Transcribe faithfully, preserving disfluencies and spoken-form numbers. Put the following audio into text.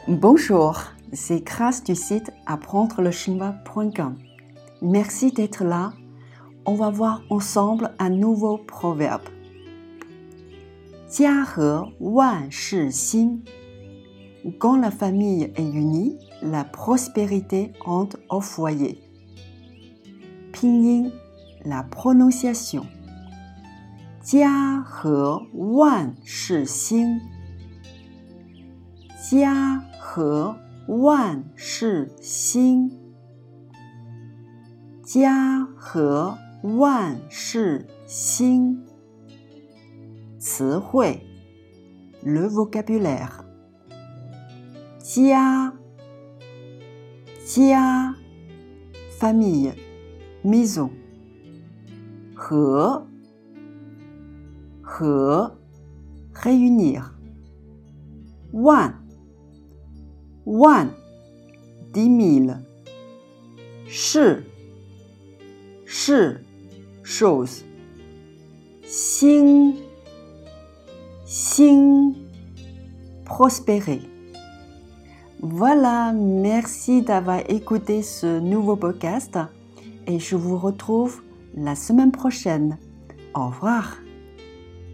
Bonjour, c'est Grace du site apprendre le chinois point com. Merci d'être là. On va voir ensemble un nouveau proverbe. 家和万事兴. Quand la famille est unie, la prospérité entre au foyer. Pinyin, la prononciation. 家和万事兴. 家和万事兴. 家和万事兴. 词汇 le vocabulaire. 家家 famille, maison. 和和 réunir. 万万 dix mille. 是是 chose. 兴兴 prospérer. Voilà, merci d'avoir écouté ce nouveau podcast et je vous retrouve la semaine prochaine. Au revoir.